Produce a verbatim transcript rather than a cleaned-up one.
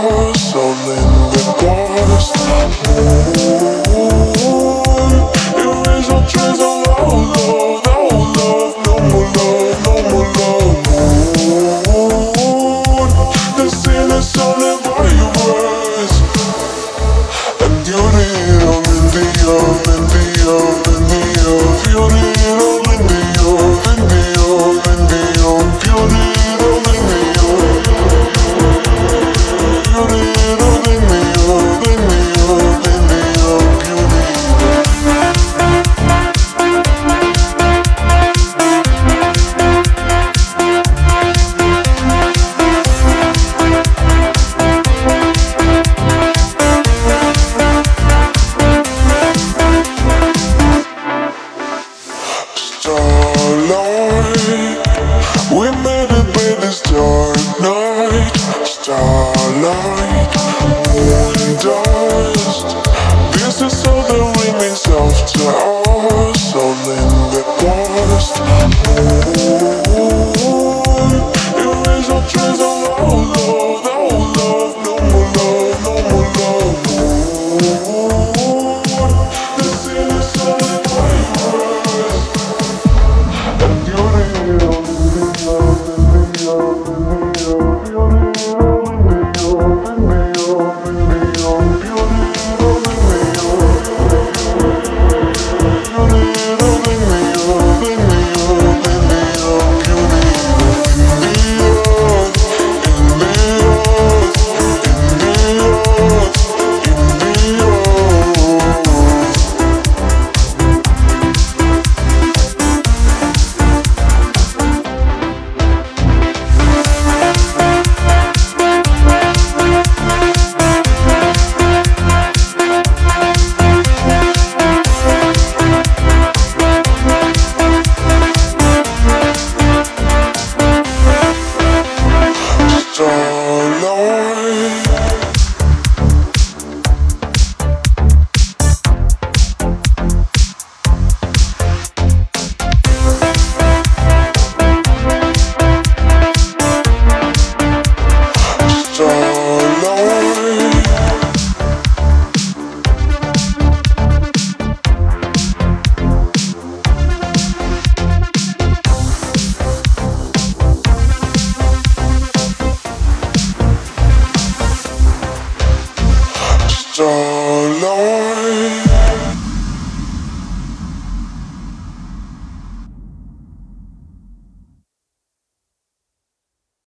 soul in the past. Moon, erase all trace of our love, our love, no more love, no more love. Moon, the sin is surrounded by your words, and you need them in the earth, in the earth, in the earth. You need them in the earth, in the earth, in the earth. You need them in the earth. You need them in the earth, in the earth, in the earth. You need starlight, we made it by this dark night. Starlight, moon dust, this is all that remains after us. All in the past. Moon, erase all trace of our love, our love, no more love, no more love. Moon, the sin is solid by yours. And you need all in the earth, in the earth, in the earth. You need all in the earth, in the earth, in the earth. You need all in the earth. You need all in the earth, in the earth, in the earth. You need in the earth, in the earth, in the earth, in the earth. Starlight, starlight, starlight.